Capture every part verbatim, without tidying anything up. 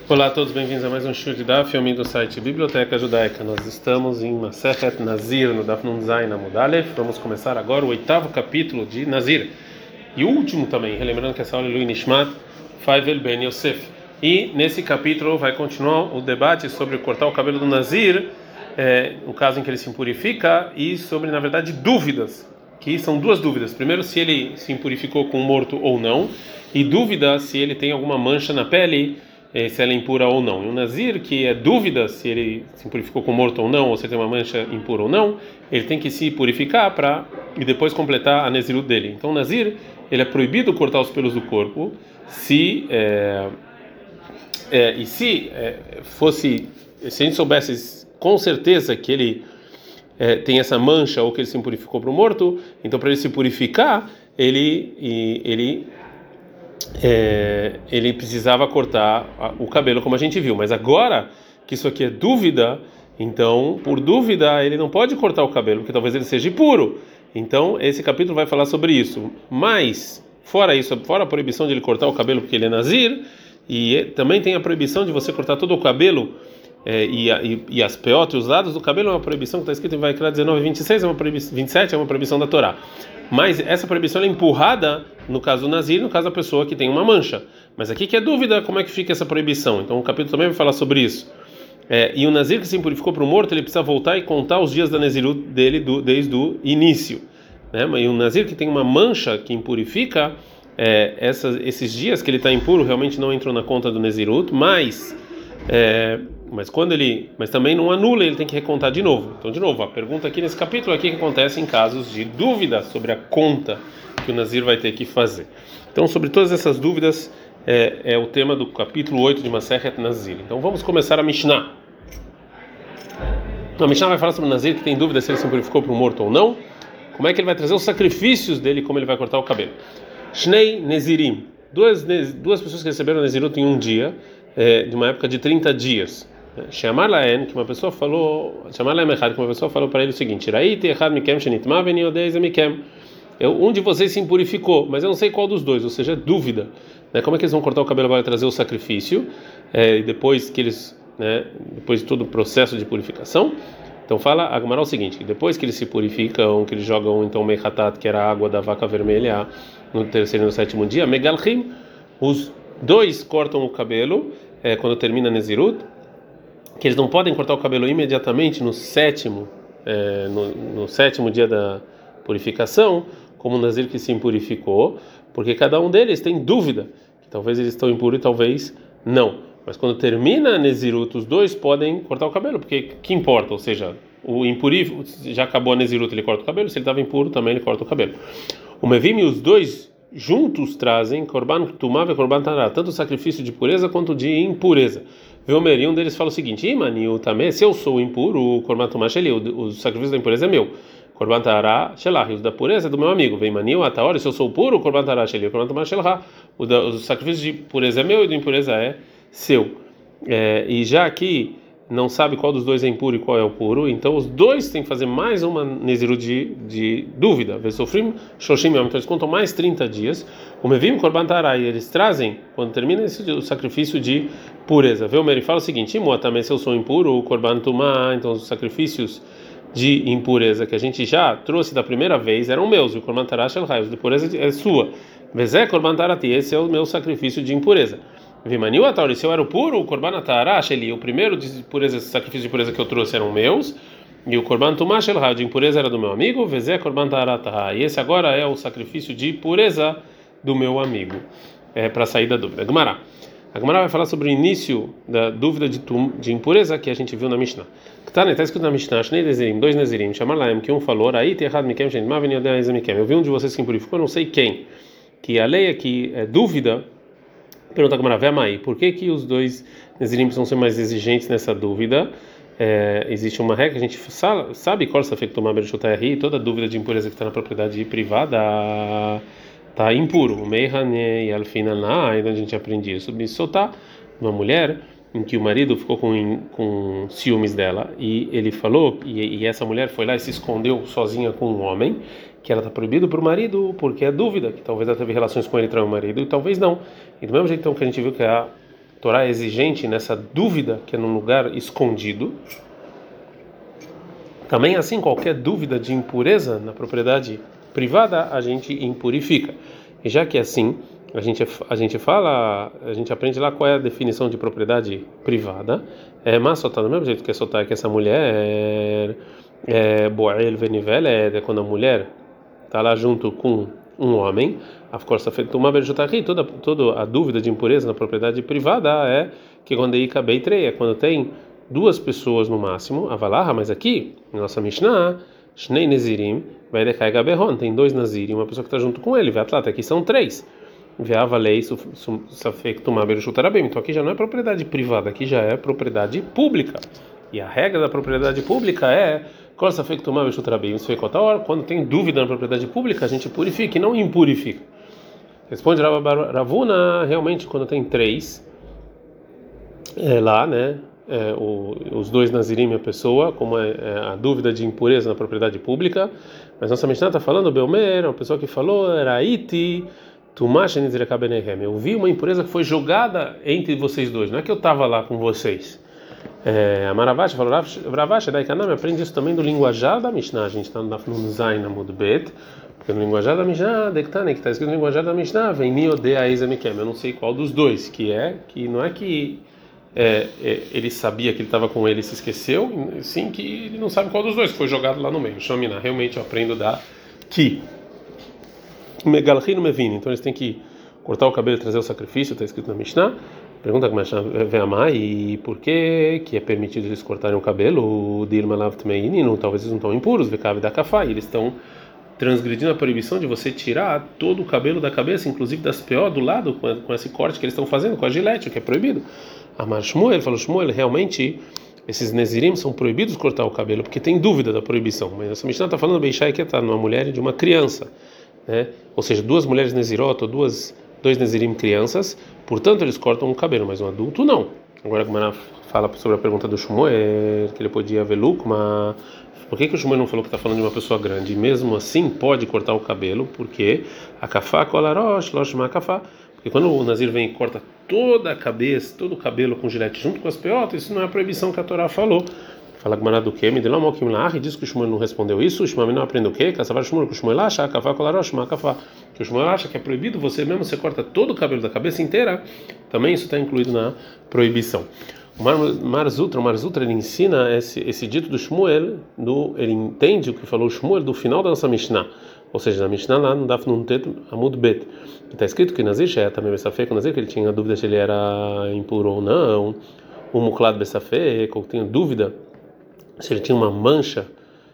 Olá a todos, bem-vindos a mais um show de Daf, filme do site Biblioteca Judaica. Nós estamos em Masechet Nazir, no Daf Nun Zayin Amud Aleph. Vamos começar agora o oitavo capítulo de Nazir. E o último também, relembrando que essa aula é Lui Nishmat Faivel Ben Yosef. E nesse capítulo vai continuar o debate sobre cortar o cabelo do Nazir, é, no caso em que ele se impurifica, e sobre, na verdade, dúvidas, que são duas dúvidas. Primeiro, se ele se impurificou com um morto ou não, e dúvida se ele tem alguma mancha na pele, se ela é impura ou não. E o Nazir, que é dúvida se ele se purificou com morto ou não, ou se tem uma mancha impura ou não, ele tem que se purificar para e depois completar a Nezirut dele. Então o Nazir, ele é proibido cortar os pelos do corpo se é, é, e se é, fosse, se a gente soubesse com certeza que ele é, tem essa mancha ou que ele se purificou para o morto, então para ele se purificar, ele ele É, ele precisava cortar o cabelo, como a gente viu. Mas agora que isso aqui é dúvida, então, por dúvida, ele não pode cortar o cabelo, porque talvez ele seja impuro. Então, esse capítulo vai falar sobre isso. Mas, fora isso, fora a proibição de ele cortar o cabelo, porque ele é nazir, e também tem a proibição de você cortar todo o cabelo, é, e, e, e as peotas, os lados do cabelo, é uma proibição que está escrito em Vaikra dezenove, vinte e seis, é uma proibição, vinte e sete, é uma proibição da Torá. Mas essa proibição é empurrada no caso do Nazir, no caso da pessoa que tem uma mancha. Mas aqui que é dúvida como é que fica essa proibição. Então o capítulo também vai falar sobre isso. É, e o Nazir que se purificou para o morto, ele precisa voltar e contar os dias da Nezirut dele do, desde o início. Né? E o Nazir que tem uma mancha que impurifica, é, essas, esses dias que ele está impuro realmente não entrou na conta do Nezirut, mas... É, mas quando ele, mas também não anula, ele tem que recontar de novo. Então, de novo, a pergunta aqui nesse capítulo aqui que acontece em casos de dúvida sobre a conta que o Nazir vai ter que fazer. Então, sobre todas essas dúvidas é, é o tema do capítulo oito de Masechet Nazir. Então, vamos começar a Mishnah. A Mishnah vai falar sobre o Nazir que tem dúvida se ele se purificou para o morto ou não. Como é que ele vai trazer os sacrifícios dele, como ele vai cortar o cabelo. Shnei Nezirim, duas duas pessoas que receberam Nezirut em um dia. É, de uma época de trinta dias. Chamar Laen, que uma pessoa falou, chamar Laen Echad, que uma pessoa falou para ele o seguinte: Raiti Echad Mikem Shenitma Veni Odei Mikem. Um de vocês se impurificou, mas eu não sei qual dos dois, ou seja, dúvida. Né? Como é que eles vão cortar o cabelo para trazer o sacrifício? É, e depois que eles, né, depois de todo o processo de purificação. Então fala a Gemara o seguinte: que depois que eles se purificam, que eles jogam então Mechatat, que era a água da vaca vermelha, no terceiro e no sétimo dia, Megalchim, os dois cortam o cabelo. É, quando termina a Nezirut, que eles não podem cortar o cabelo imediatamente no sétimo, é, no, no sétimo dia da purificação, como o Nazir que se impurificou, porque cada um deles tem dúvida, que talvez eles estão impuros e talvez não. Mas quando termina a Nezirut, os dois podem cortar o cabelo, porque que importa? Ou seja, o impuro já acabou a Nezirut, ele corta o cabelo, se ele estava impuro também ele corta o cabelo. O Mevim e os dois juntos trazem Korban Tumá e Korban Tará, tanto o sacrifício de pureza quanto de impureza. Veomer, e um deles fala o seguinte: Imani, também, se eu sou impuro, o Korban Tumá Sheli, o sacrifício da impureza é meu. Korban Tará Shelah, o da pureza é do meu amigo. Veimani, o Ataori, se eu sou puro, o Korban Tará Sheli, o Korban Tumá Shelah, o sacrifício de pureza é meu e o de impureza é seu. É, e já aqui não sabe qual dos dois é impuro e qual é o puro, então os dois têm que fazer mais uma Nezirut de, de dúvida. Vesofrim, Shoshim, então eles contam mais trinta dias. O Mevim Korban Tará, e eles trazem, quando termina esse, o sacrifício de pureza. Vê o Meri fala o seguinte: Imoa, também se eu sou impuro, o Korban Tumá, então os sacrifícios de impureza que a gente já trouxe da primeira vez eram meus, e o Korban Tará Shelhai, os de pureza é sua. Vezé Korban Tarati, esse é o meu sacrifício de impureza. Vimaniu Atauri, se eu era o puro, o Korban Tará Sheli, o primeiro de pureza, sacrifício de pureza que eu trouxe eram meus, e o Korban Tumá Shelhai, de impureza era do meu amigo. Vezé Korban Tará Tahá, e esse agora é o sacrifício de pureza do meu amigo. É para sair da dúvida. Gemara. A Gemara vai falar sobre o início da dúvida de, tum, de impureza que a gente viu na Mishnah. Está tá escrito na Mishnah, Shnei Nezirim, dois Nezirim, chamar Laem, que um falou, aí tem errado Mikem, gente, mas vem o Mikem. Eu vi um de vocês que impurificou, não sei quem. Que a lei é que é dúvida. Pergunta a Gemara, Vemai, por que que os dois Nezirim precisam ser mais exigentes nessa dúvida? É, existe uma regra, a gente sabe qual é tomar Bereshutayari, toda dúvida de impureza que está na propriedade privada está impuro. O Meihane e Alfinaná, onde a gente aprende isso, soltar uma mulher em que o marido ficou com, com ciúmes dela e ele falou, e, e essa mulher foi lá e se escondeu sozinha com um homem, que ela está proibida para o marido porque é dúvida, que talvez ela teve relações com ele e traiu o marido, e talvez não. E do mesmo jeito então, que a gente viu que a Torá é exigente nessa dúvida que é num lugar escondido. Também assim, qualquer dúvida de impureza na propriedade privada, a gente impurifica. E já que é assim, a gente, a gente fala, a gente aprende lá qual é a definição de propriedade privada. É, mas só tá do mesmo jeito que é soltar que essa mulher é Boel Venivel, é quando a mulher está lá junto com um homem, a força feita uma vez aqui, toda toda a dúvida de impureza na propriedade privada é que quando aí cabei três, é quando tem duas pessoas no máximo, avalarra, mas aqui, nossa Mishnah, Shnei Nezirim, vai decair Gaberron, tem dois Nazirim, uma pessoa que está junto com ele, vai atleta, aqui são três. Veava lei safektumá beruchutarabim. Então aqui já não é propriedade privada, aqui já é propriedade pública. E a regra da propriedade pública é quando tem dúvida na propriedade pública, a gente purifica e não impurifica. Responde Ravuna, realmente quando tem três é, lá, né? É, o, os dois Nazirim a pessoa, como é, é a dúvida de impureza na propriedade pública, mas nossa Mishnah está falando, Belmer, uma pessoa que falou, era Iti, eu vi uma impureza que foi jogada entre vocês dois, não é que eu estava lá com vocês. É, a Maravash falou, Ravash, Daikanam, aprende isso também do linguajar da Mishnah, a gente está no Zain Amud Bet, porque no linguajar da Mishnah, Dektane, que está escrito no linguajar da Mishnah, vem Niodea Ezemikem, eu não sei qual dos dois, que é, que não é que é, é, ele sabia que ele estava com ele e se esqueceu, sim que ele não sabe qual dos dois, que foi jogado lá no meio. Shomina, realmente eu aprendo da Ki. Megalchino Mevini, então eles têm que cortar o cabelo e trazer o sacrifício, está escrito na Mishnah. Pergunta como é vem amar e por que que é permitido eles cortarem o cabelo? O Dilma Lavtmeinino, talvez eles não estão impuros, Vekav da Kafá, e eles estão transgredindo a proibição de você tirar todo o cabelo da cabeça, inclusive das P O do lado, com, com esse corte que eles estão fazendo, com a gilete, o que é proibido. Amar Shmuel falou: Shmuel, realmente esses Nezirim são proibidos cortar o cabelo porque tem dúvida da proibição, mas essa Mishnah está falando Beishai que está numa mulher e de uma criança. Né? Ou seja, duas mulheres Nezirot ou duas, dois Nezirim crianças, portanto eles cortam o cabelo, mas um adulto não. Agora como ela fala sobre a pergunta do Shmuel, que ele podia ver lucro, mas por que, que o Shmuel não falou que está falando de uma pessoa grande? E mesmo assim pode cortar o cabelo, porque a kafá kolarosh, loshma kafá. Porque quando o Nazir vem e corta toda a cabeça, todo o cabelo com gilete junto com as peotas, isso não é a proibição que a Torá falou. Fala Gmará do quê? Me deu uma moquim lá e diz que o Shmuel não respondeu isso. O Shmuel não aprende o quê? Caçavar Shmuel, que o Shmuel acha, kafá kolarosh, ma kafá. Que o Shmuel acha que é proibido você mesmo, você corta todo o cabelo da cabeça inteira, também isso está incluído na proibição. O Mar, Marzutra, o Marzutra ele ensina esse, esse dito do Shmuel, do, ele entende o que falou o Shmuel do final da nossa Mishnah, ou seja, na Mishnah lá no Daf Nun Tet Amud Bet, que está escrito que Nazir Sheh também Bessafé, que Nazir que ele tinha dúvida se ele era impuro ou não, o Muklad Bessafé, que eu tenho dúvida se ele tinha uma mancha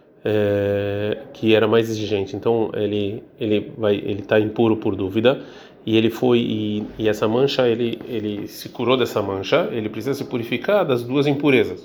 é, que era mais exigente, então ele ele vai ele está impuro por dúvida. E ele foi e, e essa mancha ele ele se curou dessa mancha, ele precisa se purificar das duas impurezas,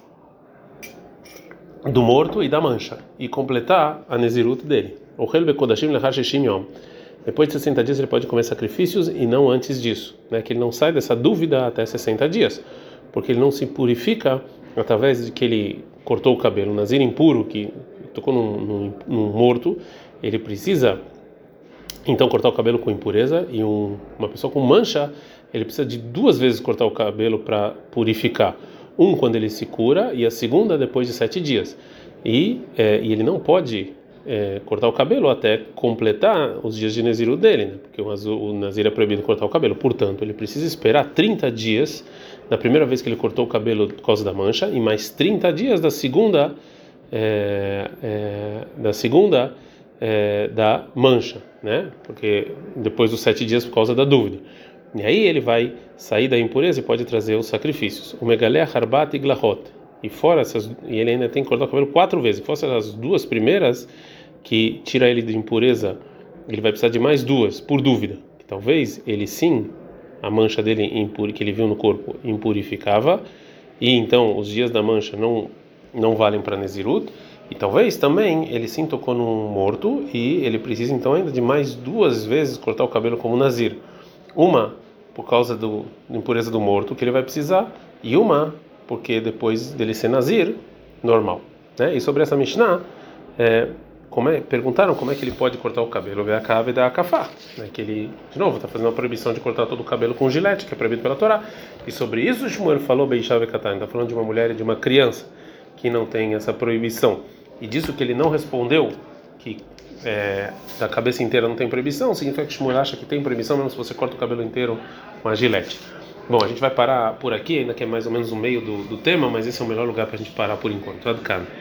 do morto e da mancha, e completar a nezirut dele. O Helbe Kodashim lechar sheshim yom. Depois de sessenta dias ele pode comer sacrifícios e não antes disso, né? Que ele não sai dessa dúvida até sessenta dias, porque ele não se purifica através de que ele cortou o cabelo. O nazir impuro que tocou num, num, num morto, ele precisa então cortar o cabelo com impureza, e um, uma pessoa com mancha, ele precisa de duas vezes cortar o cabelo para purificar. Um quando ele se cura e a segunda depois de sete dias. E, é, e ele não pode é, cortar o cabelo até completar os dias de Neziru dele, né? Porque o, o Nazir é proibido cortar o cabelo. Portanto, ele precisa esperar trinta dias da primeira vez que ele cortou o cabelo por causa da mancha e mais trinta dias da segunda é, é, da segunda É, da mancha, né? Porque depois dos sete dias por causa da dúvida. E aí ele vai sair da impureza e pode trazer os sacrifícios. O megalé, harbat e glahot. E fora essas, e ele ainda tem que cortar o cabelo quatro vezes. Fora as duas primeiras que tira ele de impureza, ele vai precisar de mais duas por dúvida. Que talvez ele sim, a mancha dele impur, que ele viu no corpo impurificava, e então os dias da mancha não não valem para Nezirut. E talvez também ele sim tocou num morto e ele precisa então ainda de mais duas vezes cortar o cabelo como Nazir. Uma por causa do, da impureza do morto que ele vai precisar, e uma porque depois dele ser Nazir, normal. Né? E sobre essa Mishnah, é, como é, perguntaram como é que ele pode cortar o cabelo, ver a cave da cafá, né? Que ele, de novo, está fazendo uma proibição de cortar todo o cabelo com gilete, que é proibido pela Torá. E sobre isso, Shmuel falou Beishav Katan, está falando de uma mulher e de uma criança que não tem essa proibição. E disso que ele não respondeu, que é, da cabeça inteira não tem proibição, significa que Shmuel acha que tem proibição, mesmo se você corta o cabelo inteiro com a gilete. Bom, a gente vai parar por aqui, ainda que é mais ou menos o meio do, do tema, mas esse é o melhor lugar para a gente parar por enquanto. Adkan.